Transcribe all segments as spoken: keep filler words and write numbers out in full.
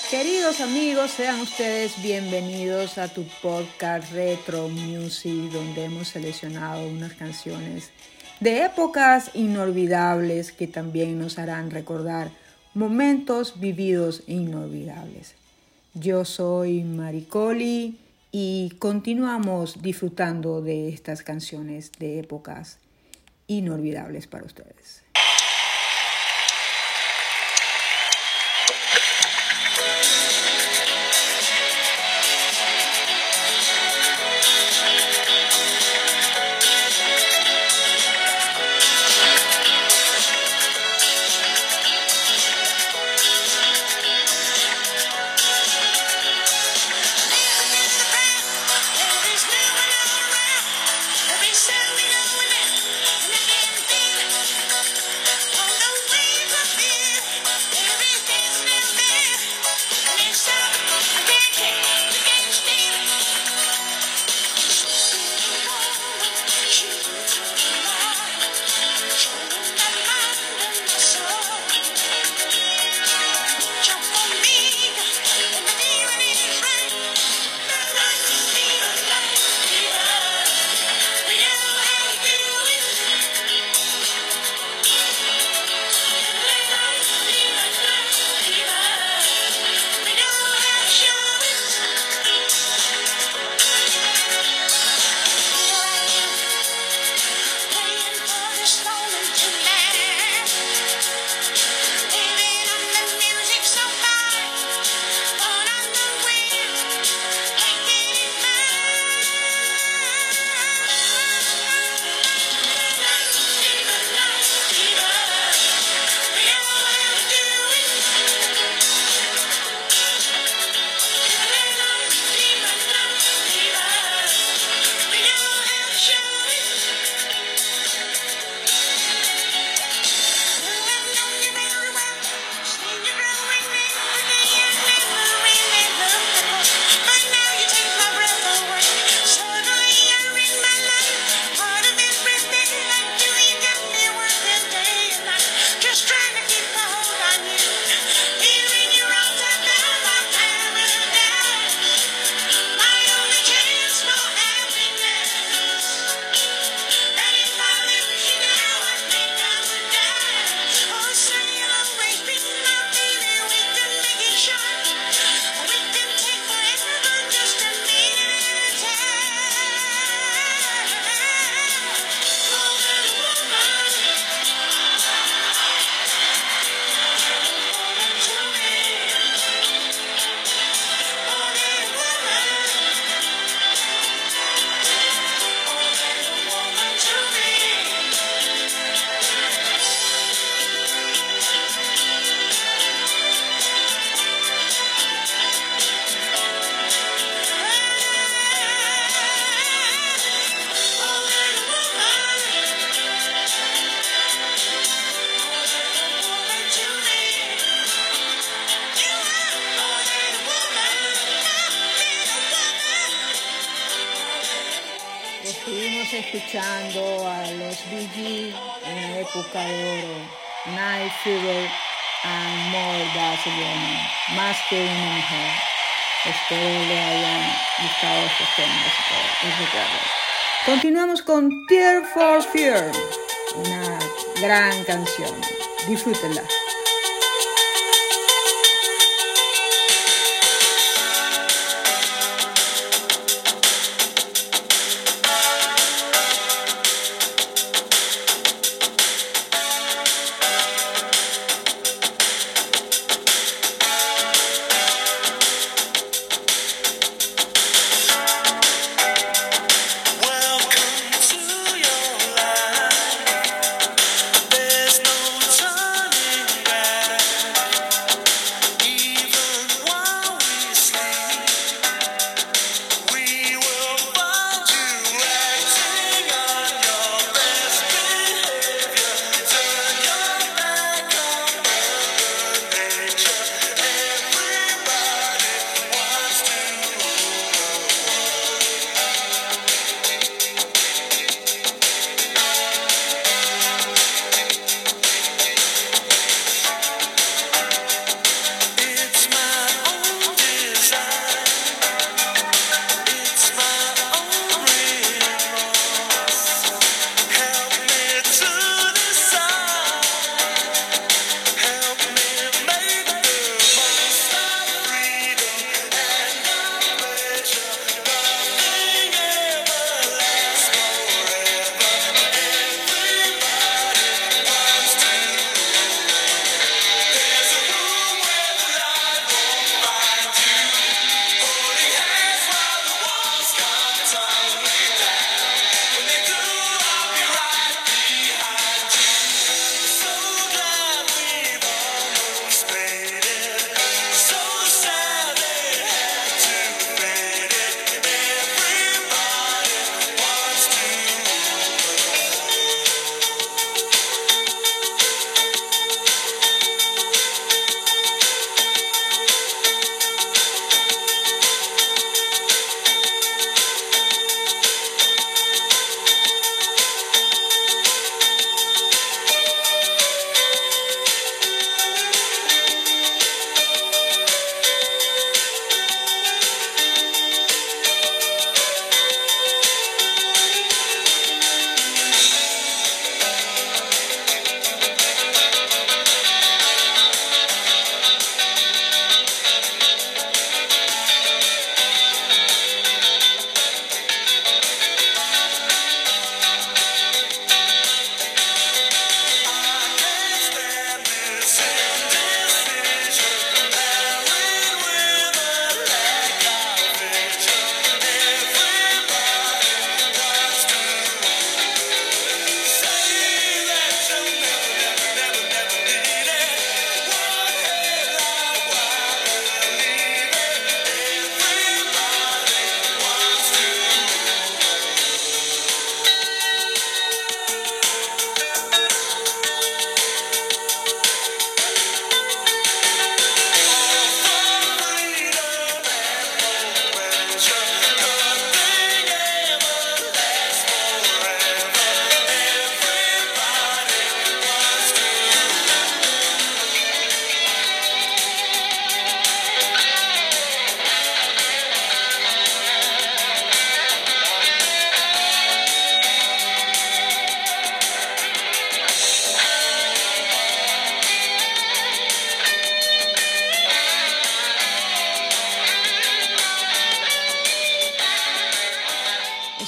Queridos amigos, sean ustedes bienvenidos a tu podcast Retro Music, donde hemos seleccionado unas canciones de épocas inolvidables que también nos harán recordar momentos vividos e inolvidables. Yo soy Maricoli y continuamos disfrutando de estas canciones de épocas inolvidables para ustedes. Estuvimos escuchando a los Bee Gees en la época de oro, Night Fever and More Barcelona, más que una mujer. Espero le hayan gustado estos temas. Continuamos con Tear for Fear, una gran canción. Disfrútenla. There's no turning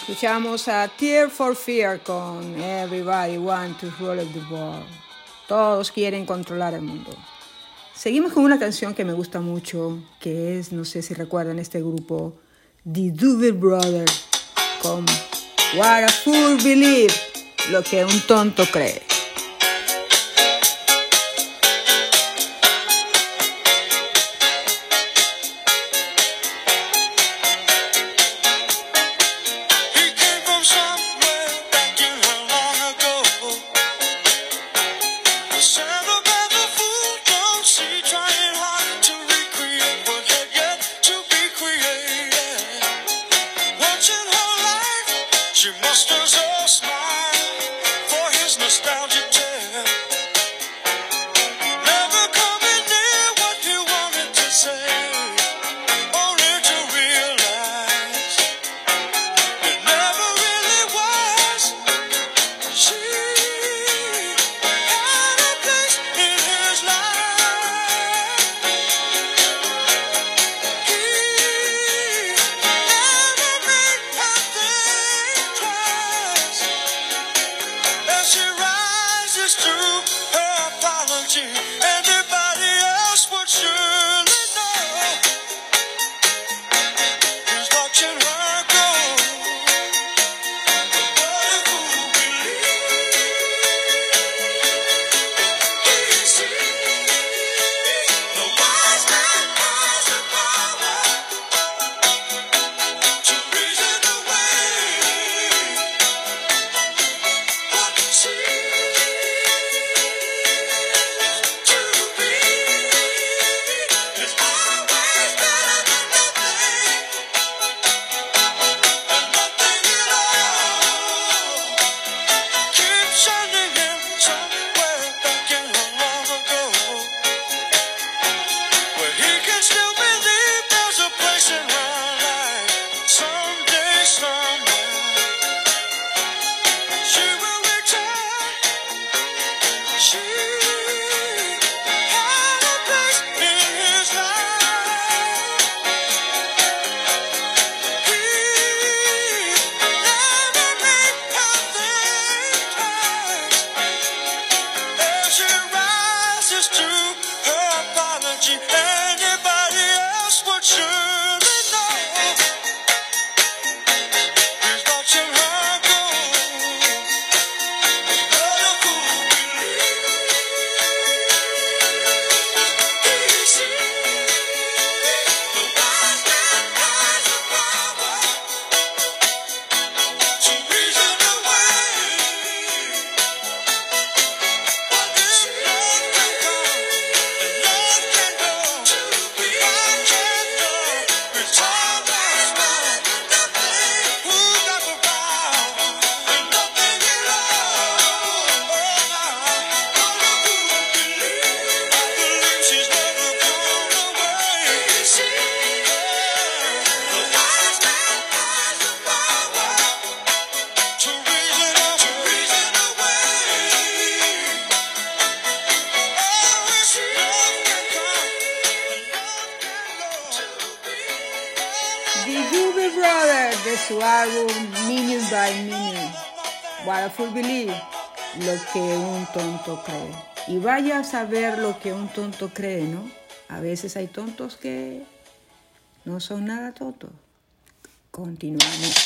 Escuchamos a Tear for Fear con Everybody Want to Rule the World. Todos quieren controlar el mundo. Seguimos con una canción que me gusta mucho, que es, no sé si recuerdan este grupo, The Doobie Brothers, con What a Fool Believe, lo que un tonto cree. De su álbum Minute by Minute, What a Fool Believe, lo que un tonto cree. Y vaya a saber lo que un tonto cree, ¿no? A veces hay tontos que no son nada tontos. Continuamos.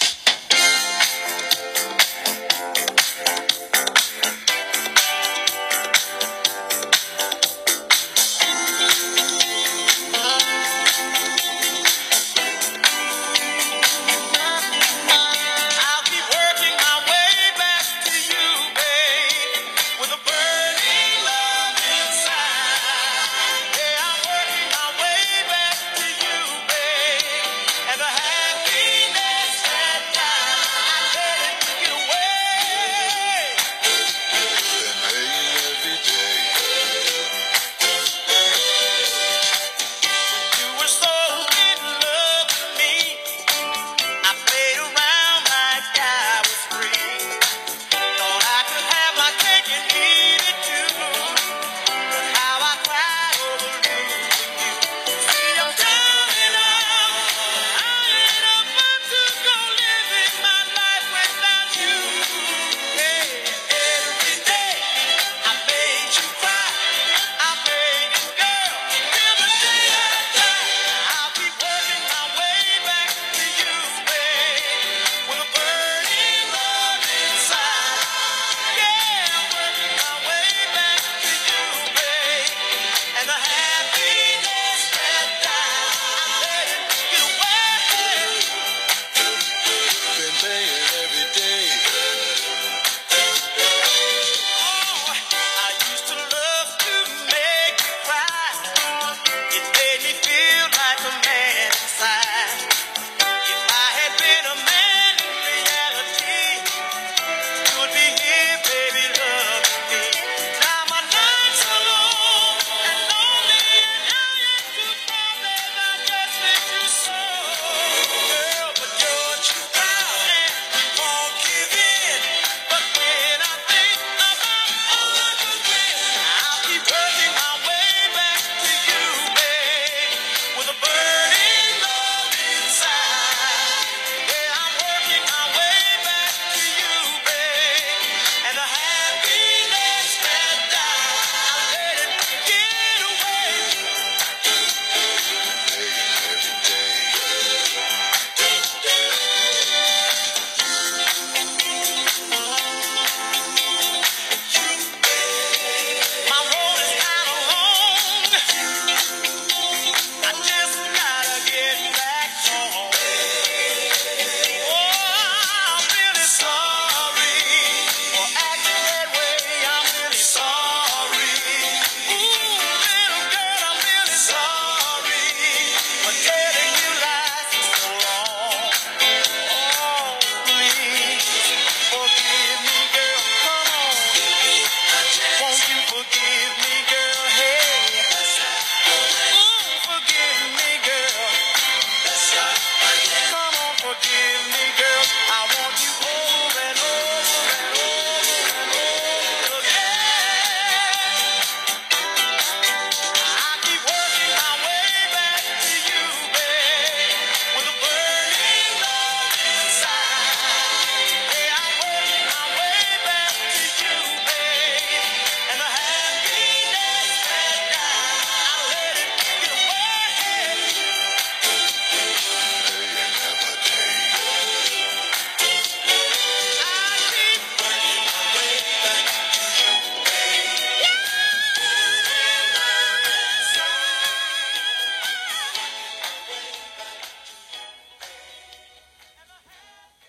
And the happiness that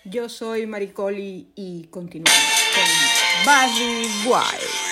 Yo soy Maricoli y continuamos con Barry White.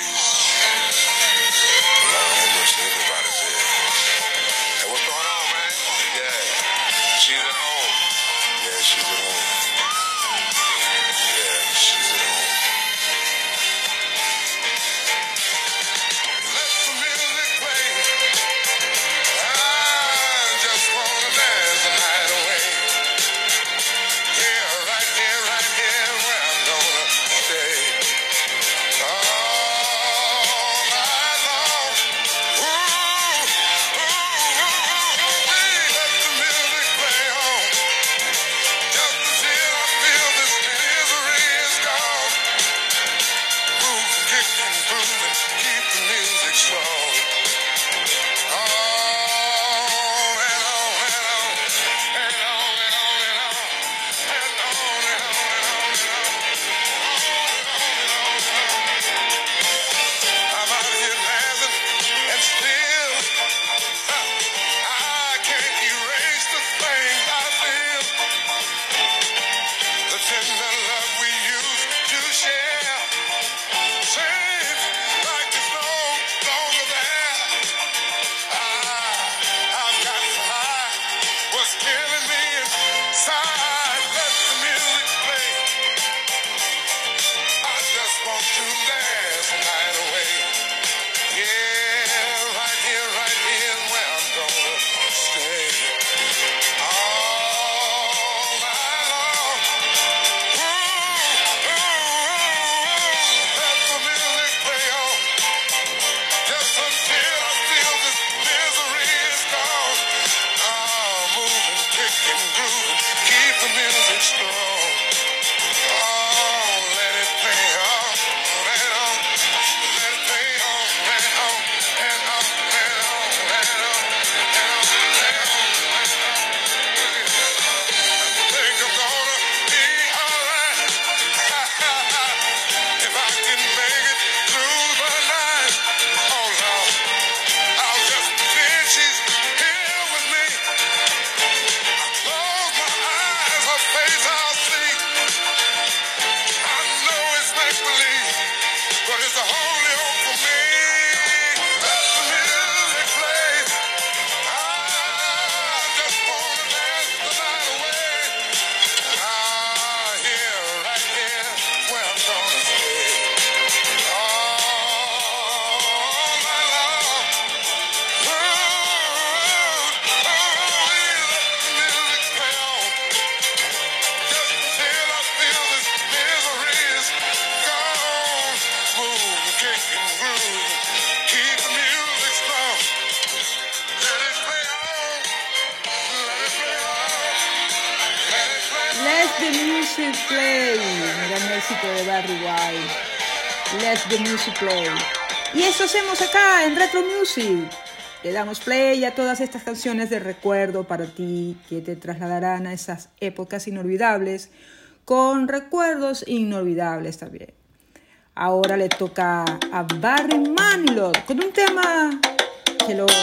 The Music Play, un gran éxito de Barry White. Let the Music Play. Y eso hacemos acá en Retro Music. Le damos play a todas estas canciones de recuerdo para ti que te trasladarán a esas épocas inolvidables, con recuerdos inolvidables también. Ahora le toca a Barry Manilow con un tema que lo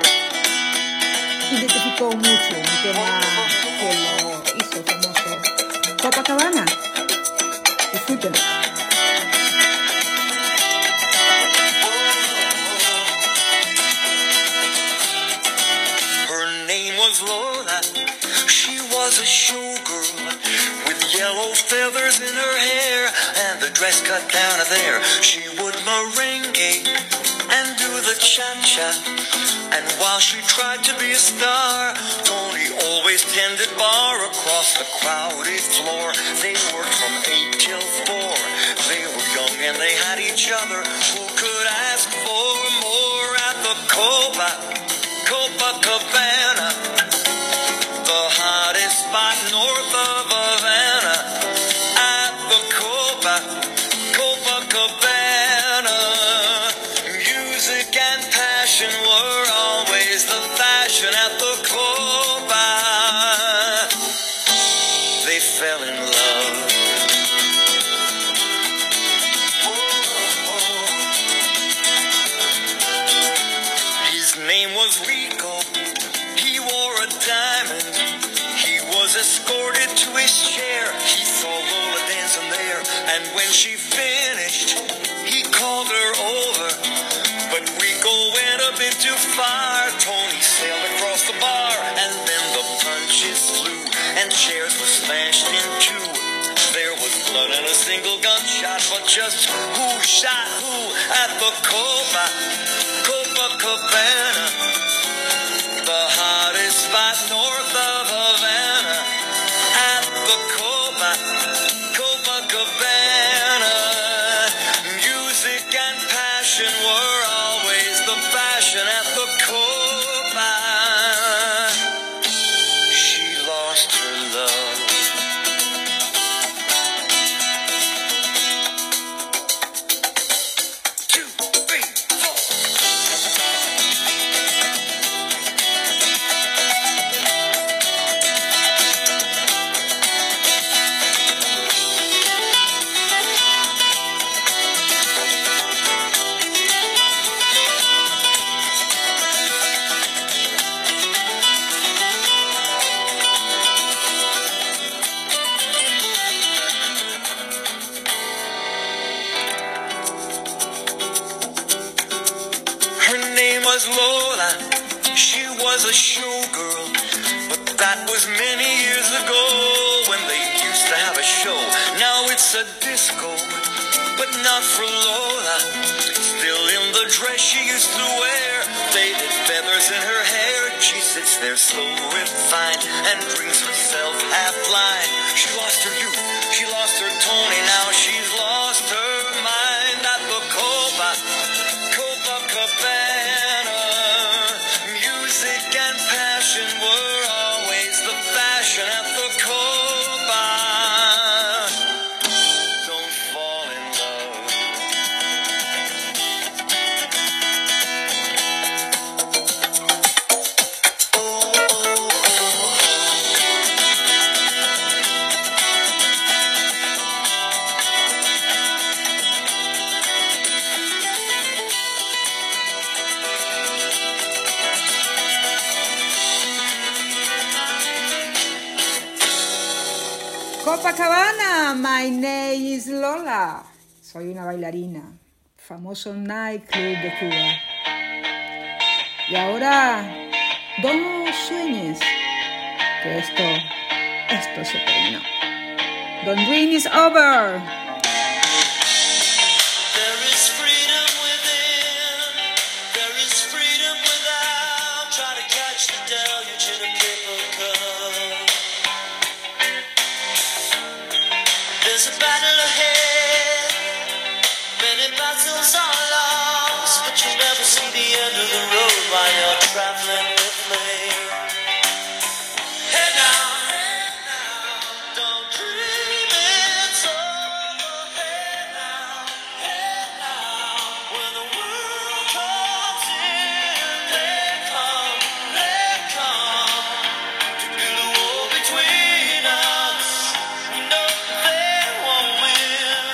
identificó mucho, un tema que lo hizo famoso. Copacabana. Disfrútenlo. Her name was Lola. She was a showgirl with yellow feathers in her hair and the dress cut down to there. She would merengue and do the cha-cha. And while she tried to be a star, Tony always tended bar across the crowded floor. They worked from eight till four. They were young and they had each other. Who could ask for more at the Copa, Copacabana, the hottest spot north of Havana? At the Copa, Copacabana, music and passion were always the fashion at the Copa. They fell in love. His name was Rico. He wore a diamond. He was escorted to his chair. He saw she finished, he called her over, but Rico went a bit too far. Tony sailed across the bar, and then the punches flew, and chairs were smashed in two. There was blood and a single gunshot, but just who shot who at the Copa, Copacabana, the hottest spot north of Havana, at the Copa, Copacabana. Music and passion were always the fashion at the Copa. She lost her love. Two, three, four. Her name was Lola, she was a showgirl, but that was many years ago when they used to have a show. Now it's a disco, but not for Lola. Still in the dress she used to wear, faded feathers in her hair. She sits there so refined and drinks herself half blind. She lost her youth, she lost her Tony, now she's lost her mind at the Copa, Copacabana. Music and passion were always the fashion at the Copa. Don't fall in love. Copacabana, my name is Lola. Soy una bailarina, famoso nightclub de Cuba. Y ahora, no sueñes que esto, esto se terminó. The dream is over. There is freedom within, there is freedom without. Try to catch the deluge in a paper cup. There's a battle ahead, many battles are lost, but you'll never see the end of the road while you're traveling with me. Hey now, hey now, don't dream it's over. Hey now, hey now, when the world comes in, they come, they come to build a wall between us. No, they won't win.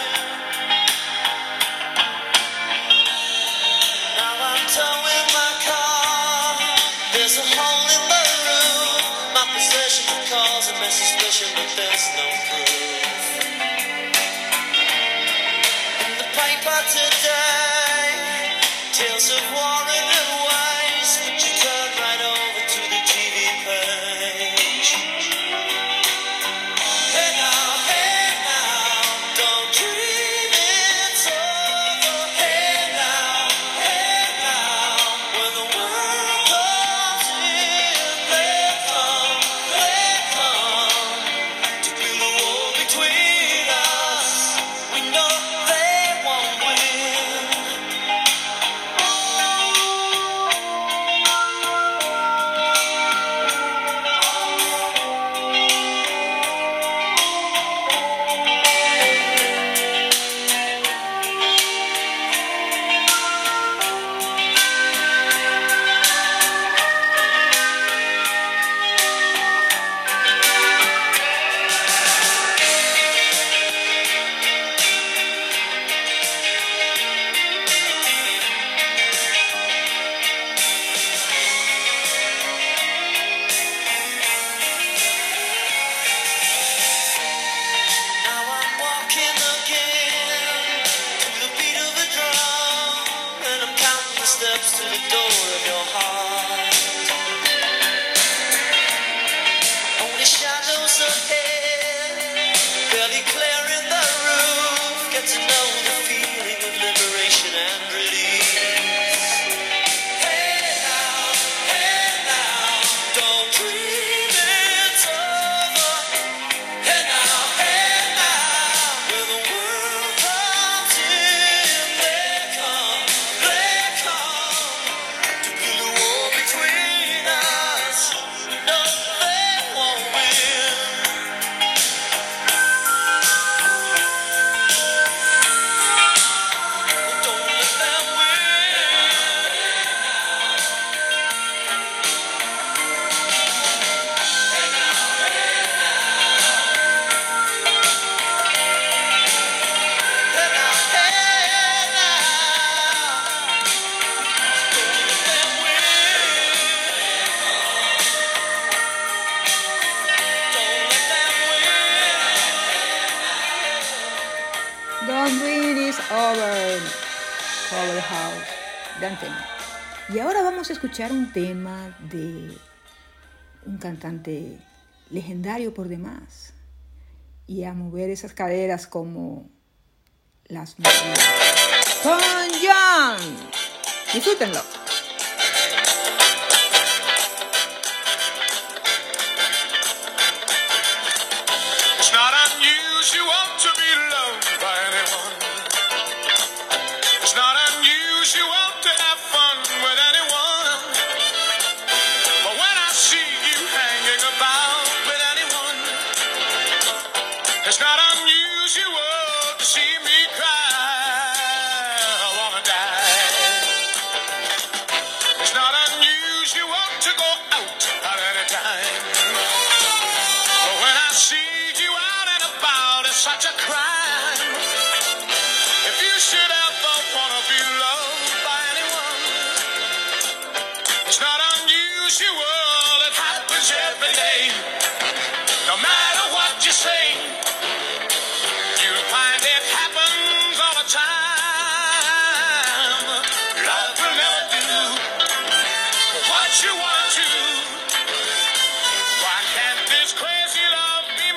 Now I'm towing my car. There's a hole in the roof. My possession causing me suspicion, but there's no proof. In the paper today, tales of war and new ways, but you turn right over to the T V page. Hey now, hey now, don't dream it's over. Hey now, hey now, when the world comes in, they come, they come to build a wall House. Gran tema. Y ahora vamos a escuchar un tema de un cantante legendario por demás y a mover esas caderas como las mujeres. Con John. Disfrútenlo. It's not unusual to be loved by anyone. It's not unusual to have fun with anyone. But when I see you hanging about with anyone, it's not unusual to see me cry. I wanna die. It's not unusual to go out at any time. But when I see you out and about, it's such a crime. If you should ever wanna be loved by anyone, it's not unusual, it happens every day. No matter what you say, you'll find it happens all the time. Love will never do what you want to. Why can't this crazy love be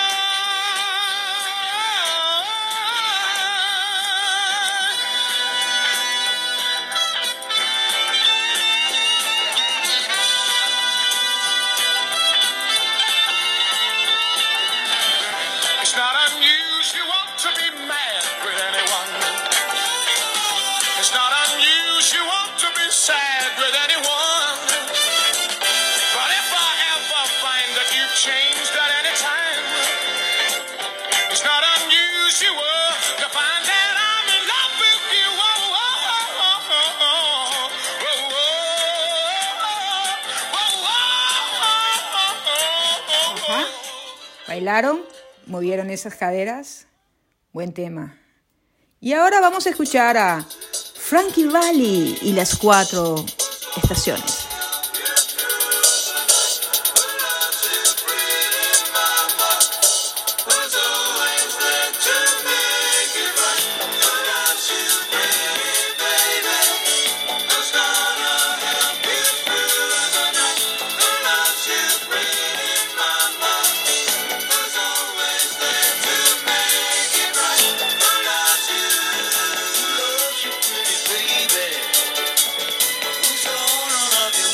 It's not unusual to be mad with anyone. It's not unusual to be sad with anyone. But if I ever find that you've changed at any time, it's not unusual to find that I'm in love with you. Oh, oh, oh, oh, oh, oh, oh, oh, oh, oh, oh. Ajá. ¿Bailaron? ¿Movieron esas caderas? Buen tema. Y ahora vamos a escuchar a Frankie Valli y las cuatro estaciones. Who's gonna love you?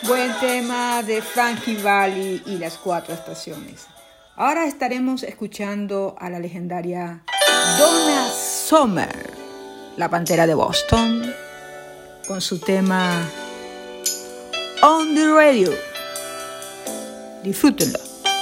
Buen tema de Frankie Valli y las cuatro estaciones. Ahora estaremos escuchando a la legendaria Donna Summer, la Pantera de Boston, con su tema On the Radio. Disfrútenlo.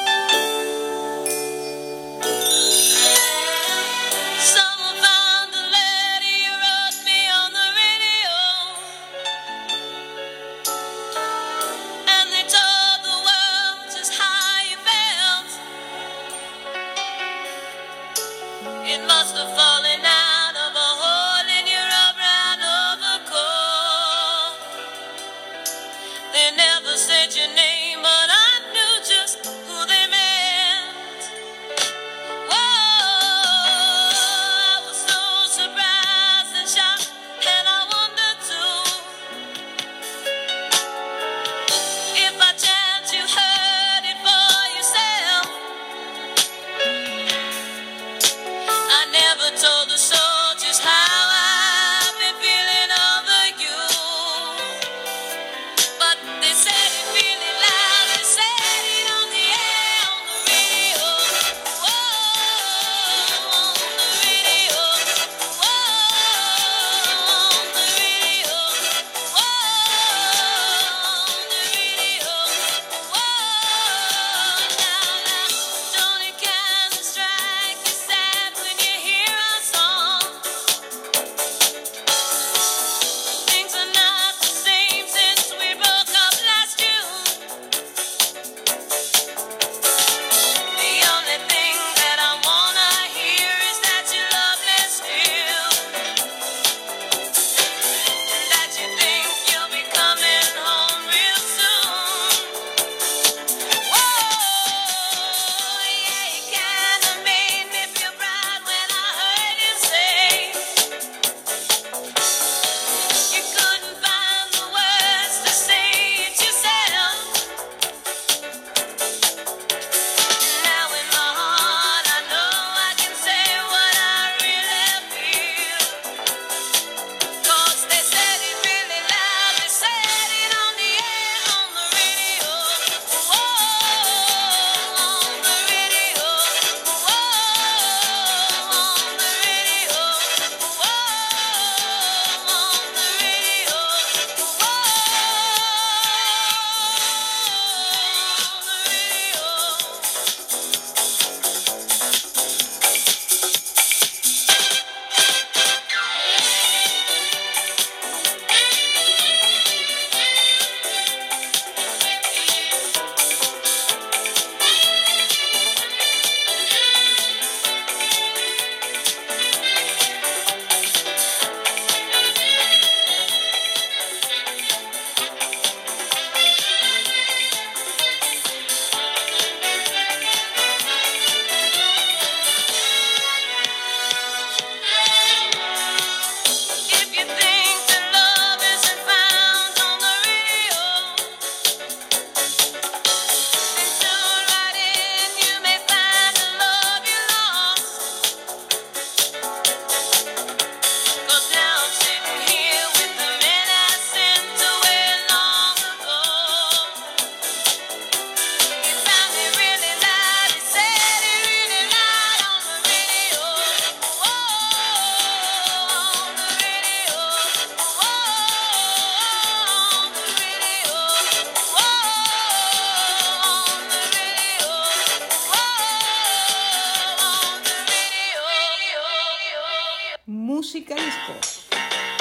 Música disco.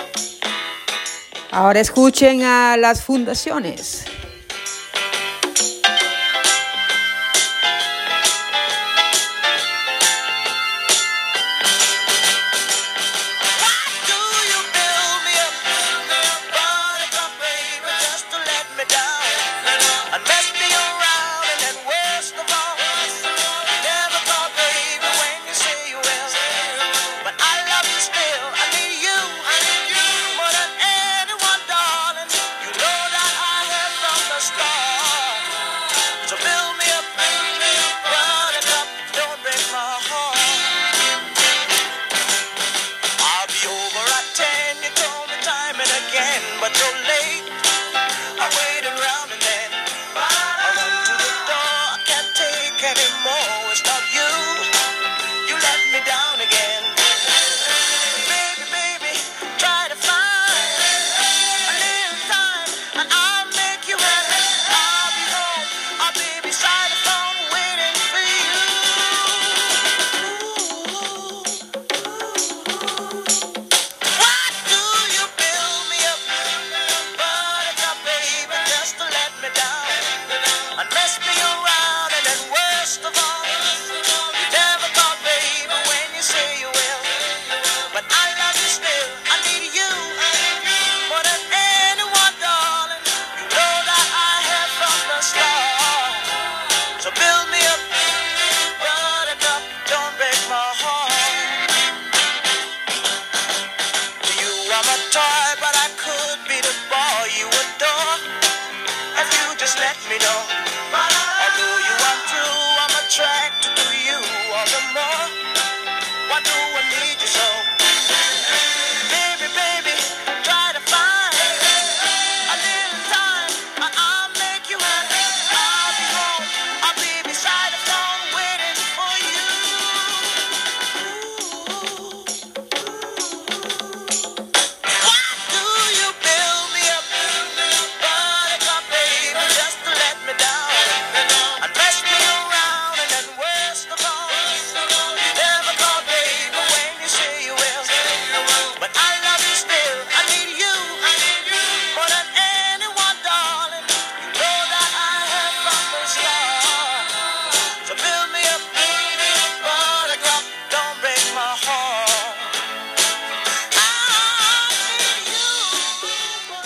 Ahora escuchen a las fundaciones. But you're late. I waited around and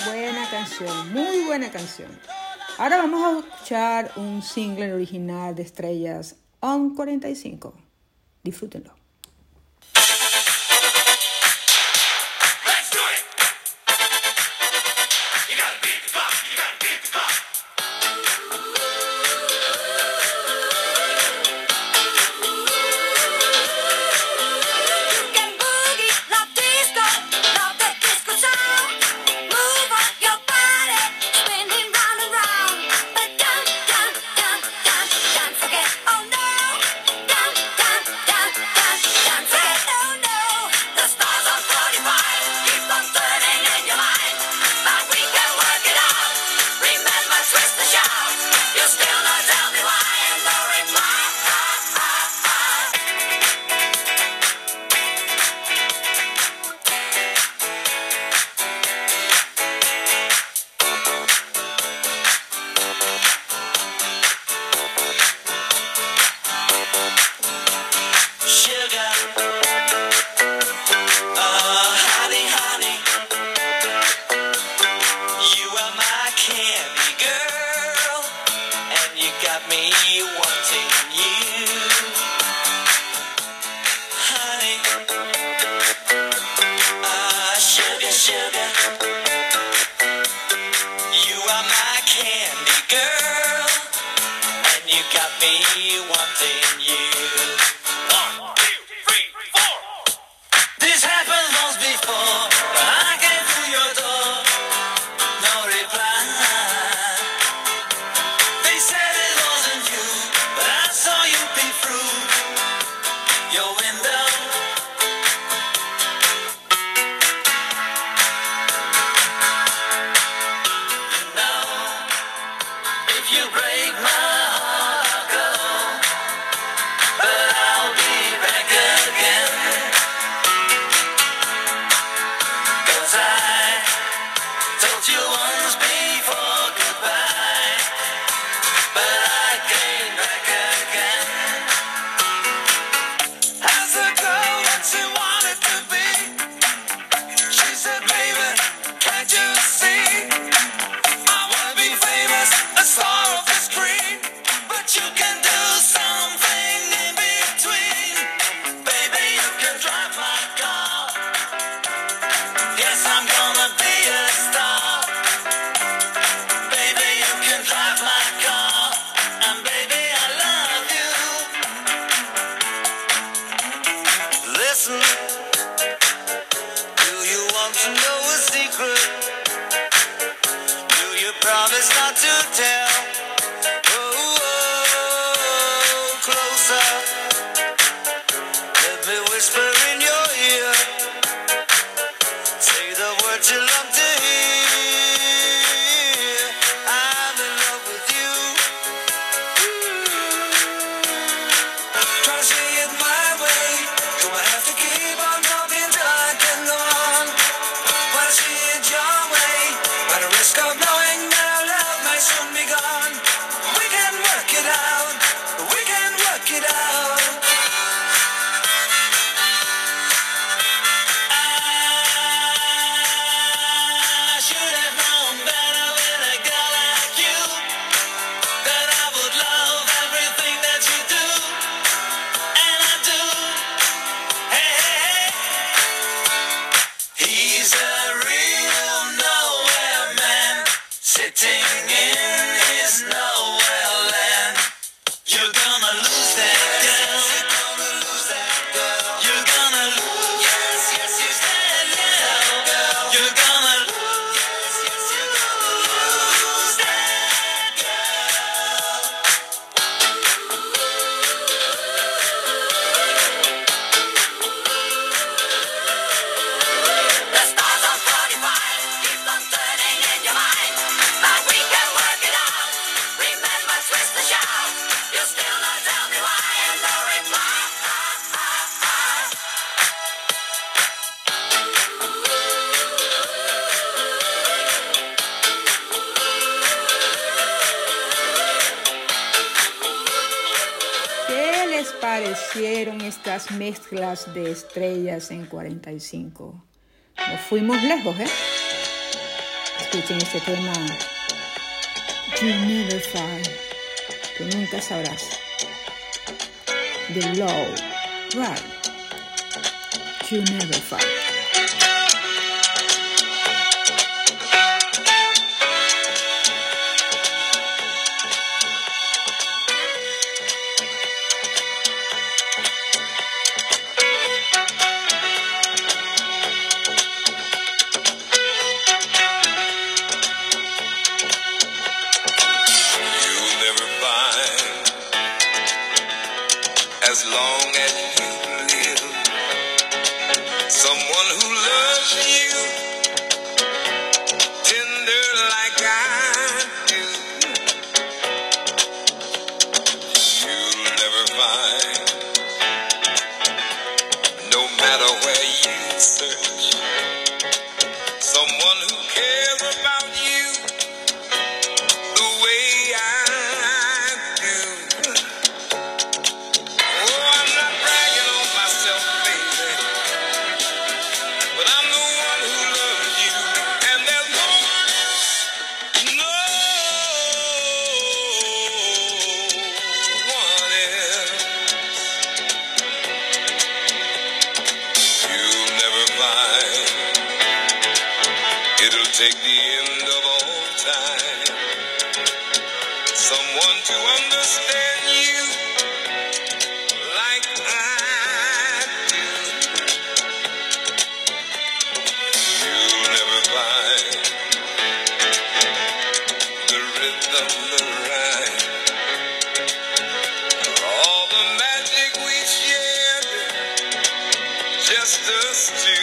buena canción, muy buena canción. Ahora vamos a escuchar un single original de Estrellas, On cuarenta y cinco. Disfrútenlo. Parecieron estas mezclas de Estrellas en cuarenta y cinco. Nos fuimos lejos, ¿eh? escuchen este tema. You never find. Tú nunca sabrás. The Low Right. You never find. As long as you live, someone who loves you tender like I do, you'll never find, no matter where you search, someone who cares about you the way I do. It'll take the end of all time, someone to understand you like I do. You'll never find the rhythm, the rhyme, all the magic we shared, just us two.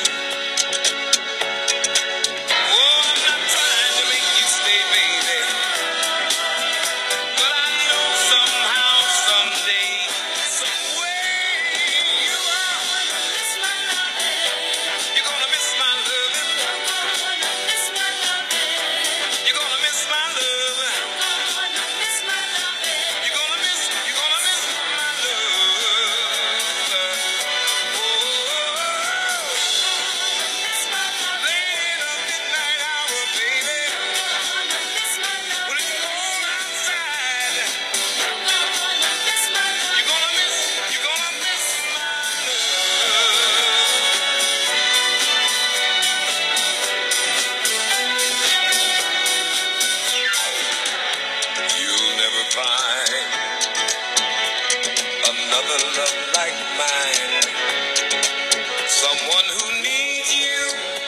Another love like mine, someone who needs you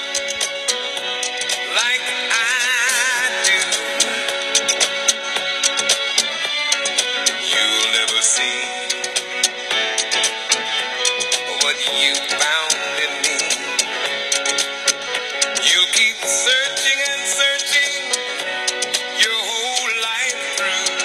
like I do. You'll never see what you found in me. You'll keep searching and searching your whole life through.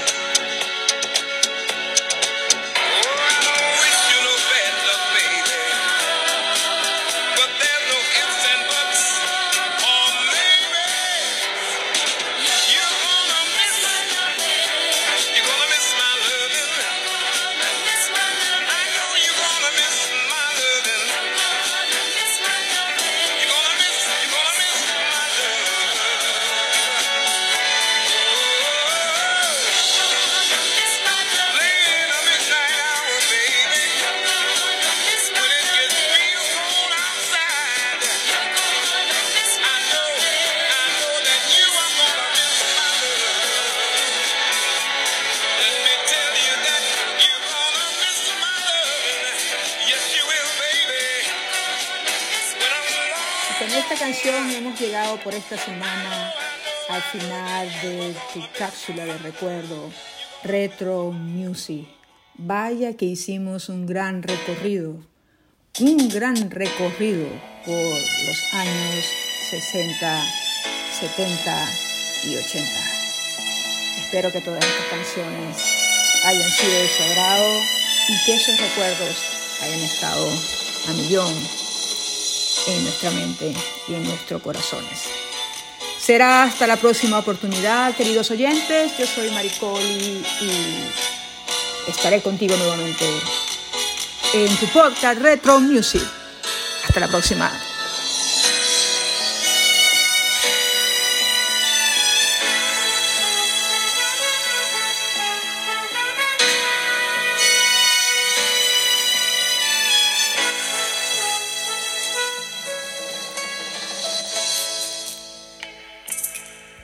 Con esta canción hemos llegado por esta semana al final de tu cápsula de recuerdo, Retro Music. Vaya que hicimos un gran recorrido, un gran recorrido por los años sesenta, setenta y ochenta. Espero que todas estas canciones hayan sido de su agrado y que esos recuerdos hayan estado a millón en nuestra mente y en nuestros corazones. Será hasta la próxima oportunidad, queridos oyentes. Yo soy Maricoli y estaré contigo nuevamente en tu podcast Retro Music. Hasta la próxima.